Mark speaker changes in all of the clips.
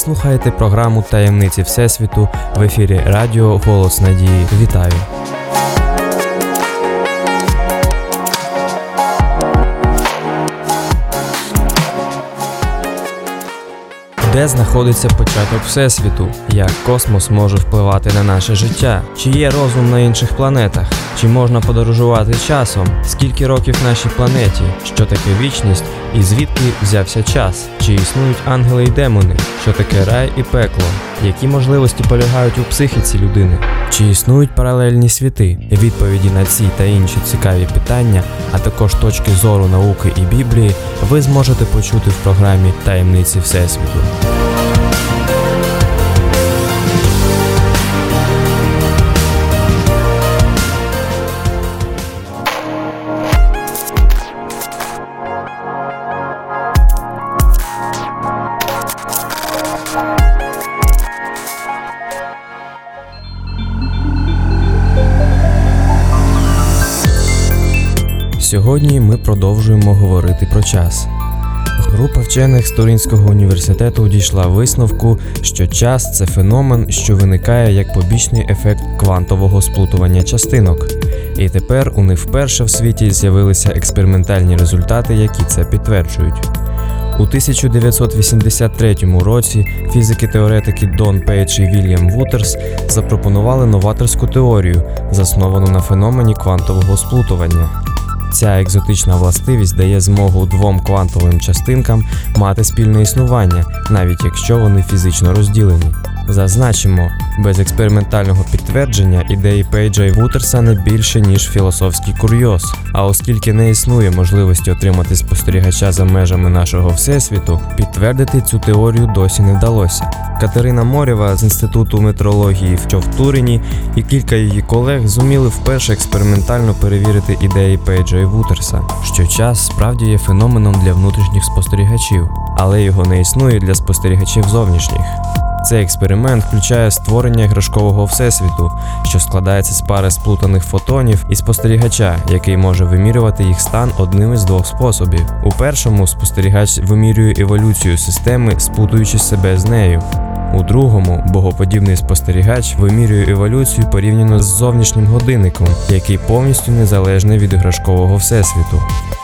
Speaker 1: слухаєте програму «Таємниці Всесвіту» в ефірі радіо «Голос Надії». Вітаю! Де знаходиться початок Всесвіту? Як космос може впливати на наше життя? Чи є розум на інших планетах? Чи можна подорожувати часом? Скільки років нашій планеті? Що таке вічність? І звідки взявся час? Чи існують ангели й демони? Що таке рай і пекло? Які можливості полягають у психіці людини? Чи існують паралельні світи? Відповіді на ці та інші цікаві питання, а також точки зору науки і Біблії ви зможете почути в програмі «Таємниці Всесвіту». Сьогодні ми продовжуємо говорити про час. Група вчених з Туринського університету дійшла висновку, що час – це феномен, що виникає як побічний ефект квантового сплутування частинок. І тепер у них вперше в світі з'явилися експериментальні результати, які це підтверджують. У 1983 році фізики-теоретики Дон Пейдж і Вільям Вутерс запропонували новаторську теорію, засновану на феномені квантового сплутування. Ця екзотична властивість дає змогу двом квантовим частинкам мати спільне існування, навіть якщо вони фізично розділені. Зазначимо, без експериментального підтвердження ідеї Пейджа і Вутерса не більше, ніж філософський курйоз. А оскільки не існує можливості отримати спостерігача за межами нашого Всесвіту, підтвердити цю теорію досі не вдалося. Катерина Морєва з Інституту метрології в Турині і кілька її колег зуміли вперше експериментально перевірити ідеї Пейджа і Вутерса, що час справді є феноменом для внутрішніх спостерігачів, але його не існує для спостерігачів зовнішніх. Цей експеримент включає створення іграшкового всесвіту, що складається з пари сплутаних фотонів і спостерігача, який може вимірювати їх стан одним із двох способів. У першому спостерігач вимірює еволюцію системи, сплутуючи себе з нею. У другому богоподібний спостерігач вимірює еволюцію порівняно з зовнішнім годинником, який повністю незалежний від іграшкового всесвіту.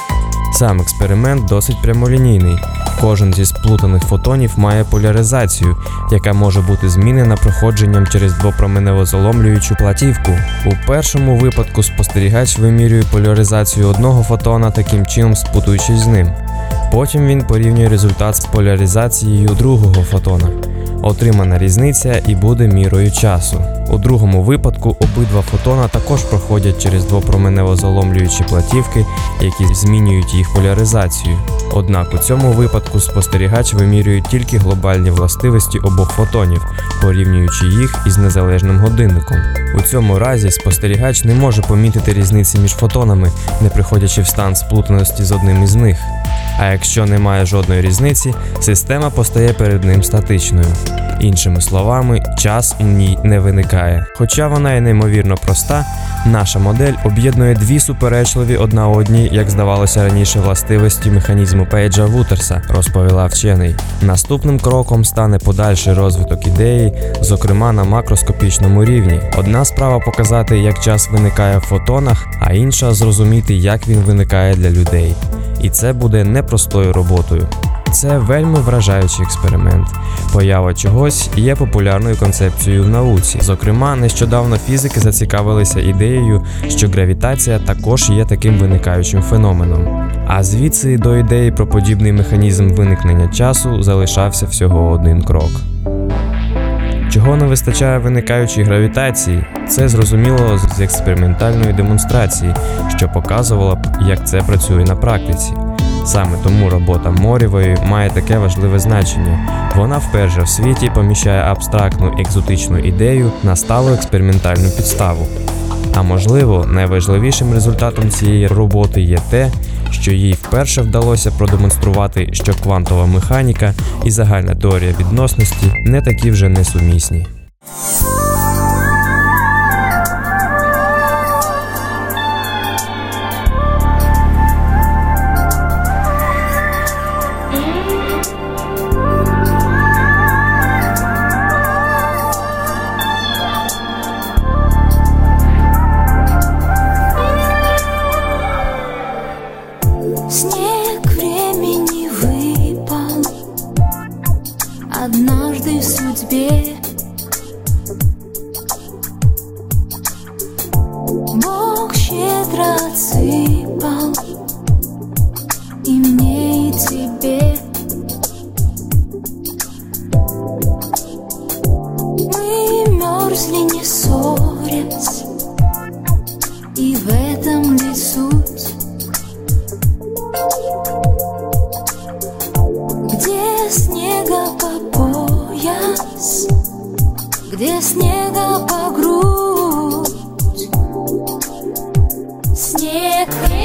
Speaker 1: Сам експеримент досить прямолінійний. Кожен зі сплутаних фотонів має поляризацію, яка може бути змінена проходженням через двопроменево-заломлюючу платівку. У першому випадку спостерігач вимірює поляризацію одного фотона, таким чином сплутуючись з ним. Потім він порівнює результат з поляризацією другого фотона. Отримана різниця і буде мірою часу. У другому випадку обидва фотона також проходять через двопроменево-заломлюючі платівки, які змінюють їх поляризацію. Однак у цьому випадку спостерігач вимірює тільки глобальні властивості обох фотонів, порівнюючи їх із незалежним годинником. У цьому разі спостерігач не може помітити різниці між фотонами, не приходячи в стан сплутаності з одним із них. А якщо немає жодної різниці, система постає перед ним статичною. Іншими словами, час у ній не виникає. Хоча вона і неймовірно проста, наша модель об'єднує дві суперечливі одна одній, як здавалося раніше, властивості механізму Пейджа-Вутерса, розповіла вчений. Наступним кроком стане подальший розвиток ідеї, зокрема на макроскопічному рівні. Одна справа показати, як час виникає в фотонах, а інша зрозуміти, як він виникає для людей. І це буде непростою роботою. Це вельми вражаючий експеримент. Поява чогось є популярною концепцією в науці. Зокрема, нещодавно фізики зацікавилися ідеєю, що гравітація також є таким виникаючим феноменом. А звідси до ідеї про подібний механізм виникнення часу залишався всього один крок. Чого не вистачає виникаючій гравітації? Це зрозуміло з експериментальної демонстрації, що показувала б, як це працює на практиці. Саме тому робота Морєвої має таке важливе значення. Вона вперше в світі поміщає абстрактну екзотичну ідею на сталу експериментальну підставу. А можливо, найважливішим результатом цієї роботи є те, що їй вперше вдалося продемонструвати, що квантова механіка і загальна теорія відносності не такі вже несумісні.
Speaker 2: снег рассыпал и мне, и тебе. Мы мерзли, не ссорясь, и в этом ли суть? Где снега по пояс, где снега по грудь? Снег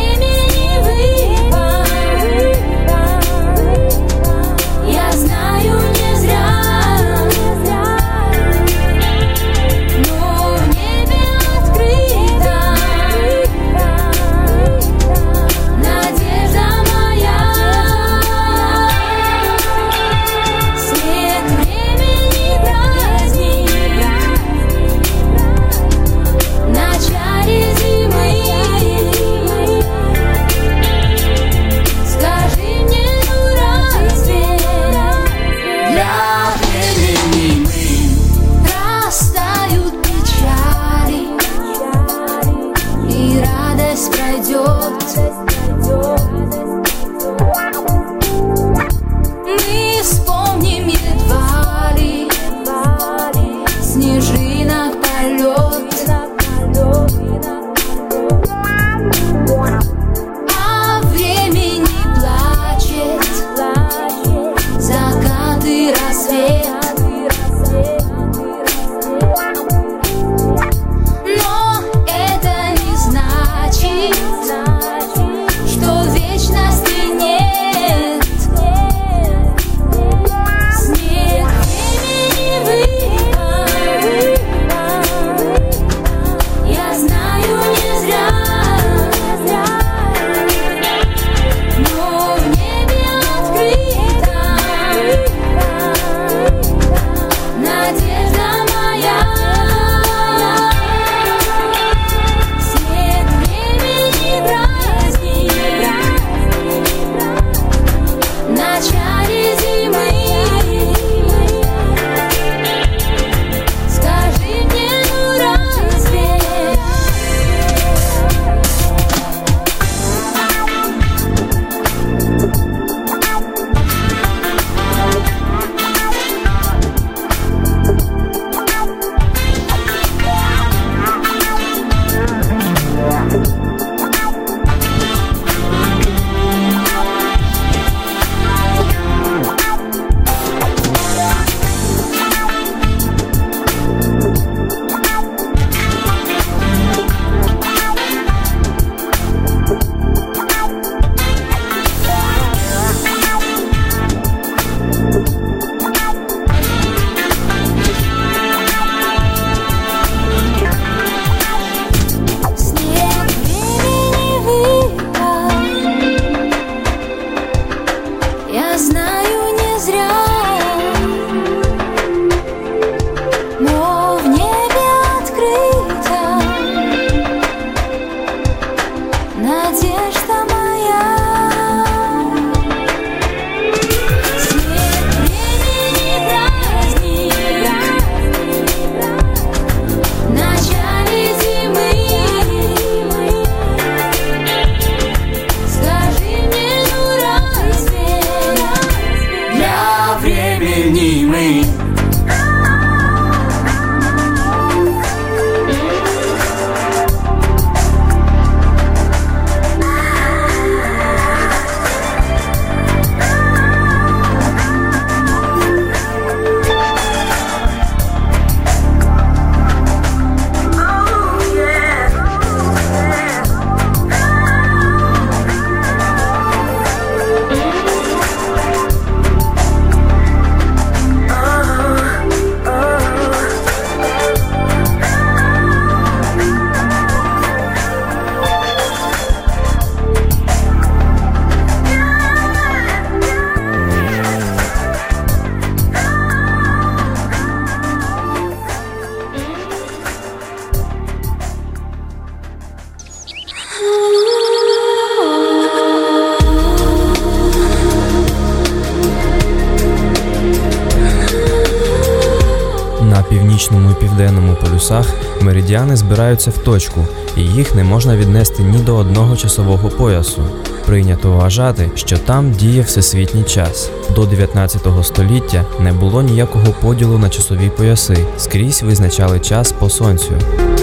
Speaker 1: південному полюсах меридіани збираються в точку, і їх не можна віднести ні до одного часового поясу. Прийнято вважати, що там діє всесвітній час. До 19 століття не було ніякого поділу на часові пояси, скрізь визначали час по сонцю.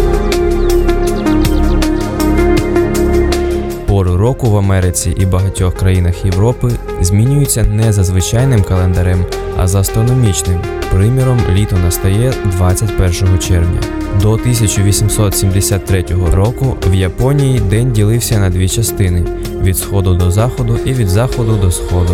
Speaker 1: Пори року в Америці і багатьох країнах Європи змінюються не за звичайним календарем, а за астрономічним. Приміром, літо настає 21 червня. До 1873 року в Японії день ділився на дві частини – від сходу до заходу і від заходу до сходу.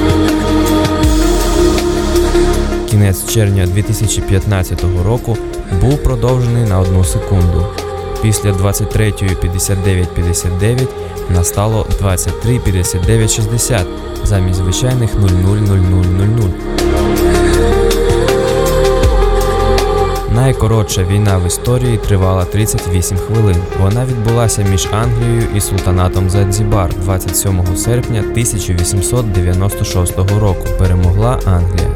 Speaker 1: Кінець червня 2015 року був продовжений на 1 секунду. Після 23:59:59 настало 23:59:60 замість звичайних 00:00:00. Найкоротша війна в історії тривала 38 хвилин. Вона відбулася між Англією і султанатом Занзібар 27 серпня 1896 року. Перемогла Англія.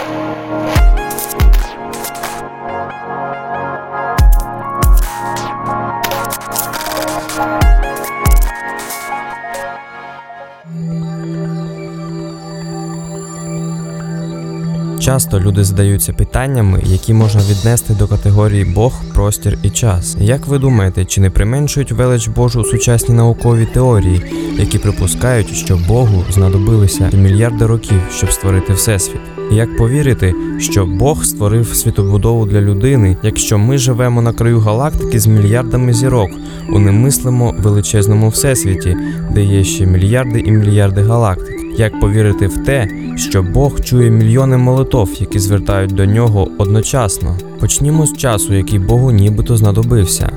Speaker 1: Часто люди задаються питаннями, які можна віднести до категорії Бог, простір і час. Як ви думаєте, чи не применшують велич Божу сучасні наукові теорії, які припускають, що Богу знадобилися мільярди років, щоб створити Всесвіт? Як повірити, що Бог створив світобудову для людини, якщо ми живемо на краю галактики з мільярдами зірок, у немислимо величезному Всесвіті, де є ще мільярди і мільярди галактик? Як повірити в те, що Бог чує мільйони молитов, які звертають до нього одночасно? Почнімо з часу, який Богу нібито знадобився.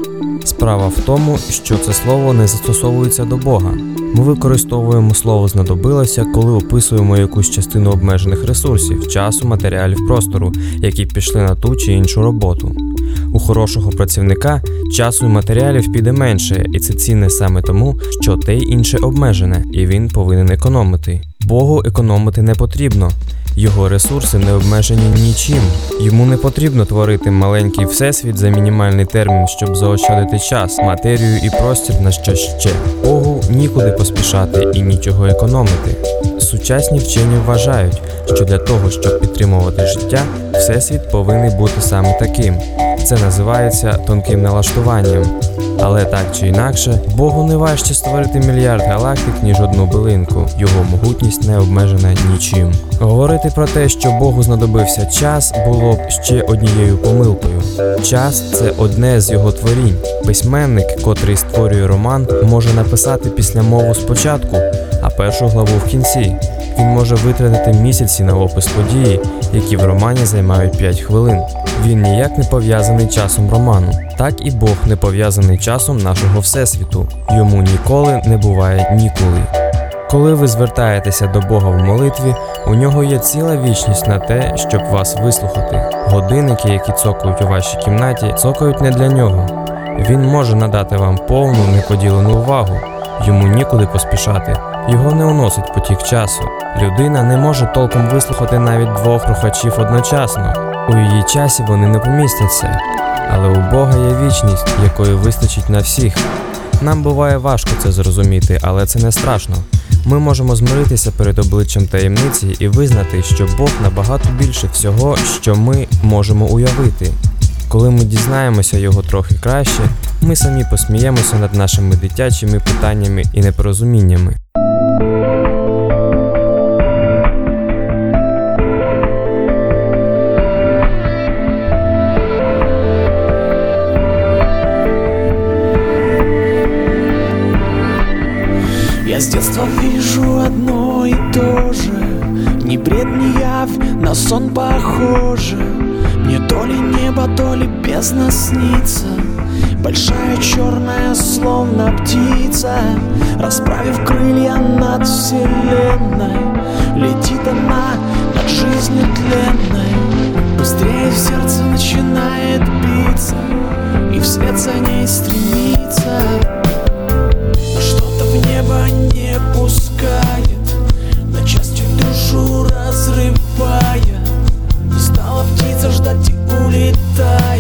Speaker 1: Справа в тому, що це слово не застосовується до Бога. Ми використовуємо слово «знадобилося», коли описуємо якусь частину обмежених ресурсів – часу, матеріалів, простору, які пішли на ту чи іншу роботу. У хорошого працівника часу і матеріалів піде менше, і це цінне саме тому, що те й інше обмежене, і він повинен економити. Богу економити не потрібно. Його ресурси не обмежені нічим. Йому не потрібно творити маленький всесвіт за мінімальний термін, щоб заощадити час, матерію і простір на що ще. Богу нікуди поспішати і нічого економити. Сучасні вчені вважають, що для того, щоб підтримувати життя, всесвіт повинен бути саме таким. Це називається тонким налаштуванням. Але так чи інакше, Богу не важче створити мільярд галактик, ніж одну билинку. Його могутність не обмежена нічим. Говорити про те, що Богу знадобився час, було б ще однією помилкою. Час – це одне з його творінь. Письменник, котрий створює роман, може написати післямову спочатку, а першу главу в кінці. Він може витратити місяці на опис події, які в романі займають 5 хвилин. Він ніяк не пов'язаний часом роману. Так і Бог не пов'язаний часом нашого Всесвіту. Йому ніколи не буває ніколи. Коли ви звертаєтеся до Бога в молитві, у нього є ціла вічність на те, щоб вас вислухати. Годинники, які цокають у вашій кімнаті, цокають не для нього. Він може надати вам повну, неподілену увагу. Йому нікуди поспішати. Його не уносить потік часу. Людина не може толком вислухати навіть 2 рухачів одночасно. У її часі вони не помістяться. Але у Бога є вічність, якої вистачить на всіх. Нам буває важко це зрозуміти, але це не страшно. Ми можемо змиритися перед обличчям таємниці і визнати, що Бог набагато більше всього, що ми можемо уявити. Коли ми дізнаємося його трохи краще, ми самі посміємося над нашими дитячими питаннями і непорозуміннями.
Speaker 3: Я с детства вижу одно и то же. Ни бред, ни явь, на сон похоже. Мне то ли небо, то ли бездна снится. Большая черная, словно птица, расправив крылья над вселенной, летит она над жизнью тленной. Быстрее в сердце начинает биться, и вслед за ней стремится. Что-то в небо не пускает, на части душу разрывая. Не стала птица ждать и улетает.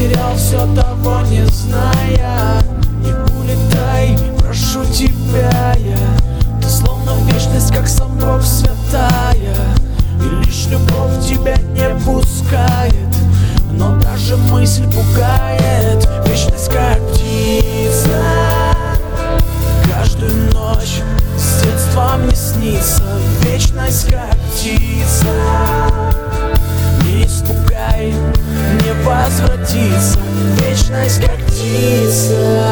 Speaker 3: потерял все, того не зная. Не улетай, прошу тебя я. Ты словно вечность, как сам Бог святая, и лишь любовь тебя не пускает. Но даже мысль пугает. Вечность как птица, каждую ночь с детства мне снится. Вечность как птица, не испугай, не возвратится. Вечность как птица.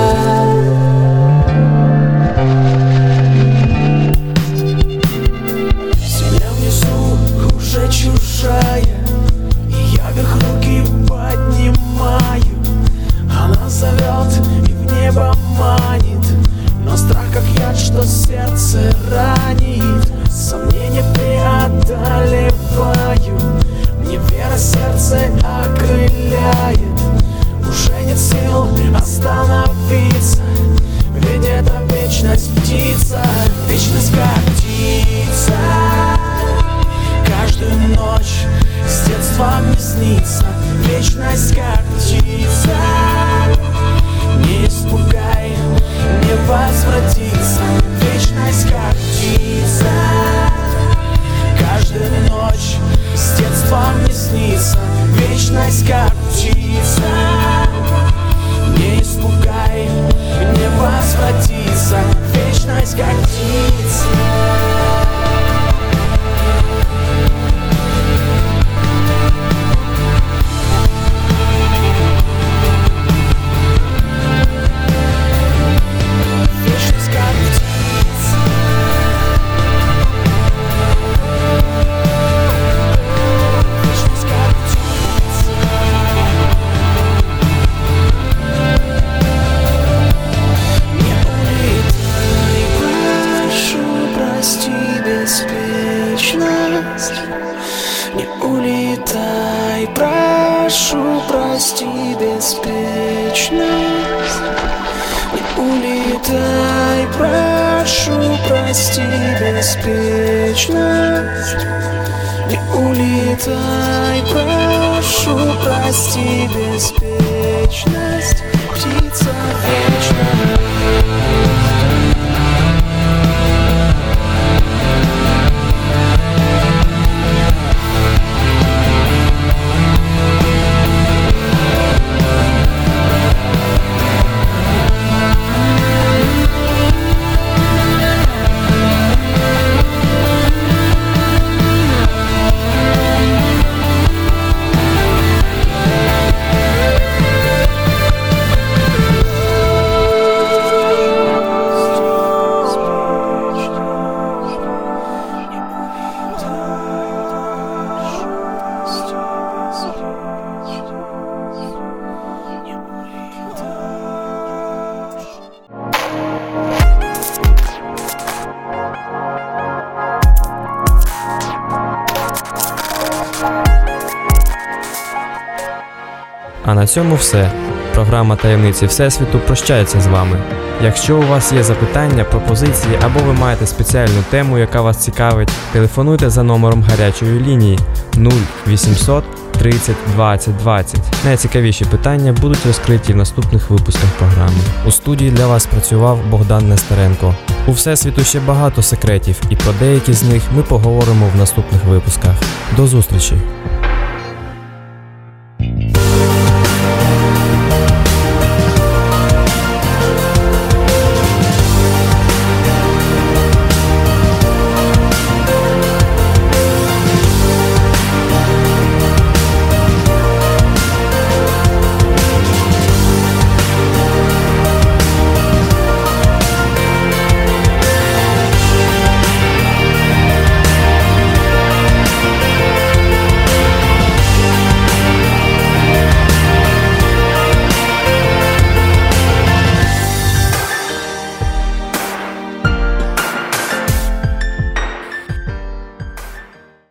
Speaker 3: Земля внизу уже чужая, и я вверх руки поднимаю. Она зовет и в небо манит, но страх как яд, что сердце ранит. Сомнения преодолеваю, мне вера сердце окрыляет. Уже нет сил остановиться, ведь это вечность птица. Вечность как птица, каждую ночь с детства мне снится. Вечность как птица, не испугай, не возвратится. Вечность как птица, каждую ночь с детства мне снится. Вечность как птица, не испугай, не возвратится. Вечность как птица. Не улетай, прошу, прости беспечность. Не улетай, прошу, прости беспечность. Не улетай, прошу, прости беспечность. Птица вечная.
Speaker 1: А на цьому все. Програма «Таємниці Всесвіту» прощається з вами. Якщо у вас є запитання, пропозиції або ви маєте спеціальну тему, яка вас цікавить, телефонуйте за номером гарячої лінії 0800 30 20 20. Найцікавіші питання будуть розкриті в наступних випусках програми. У студії для вас працював Богдан Нестеренко. У Всесвіту ще багато секретів, і про деякі з них ми поговоримо в наступних випусках. До зустрічі!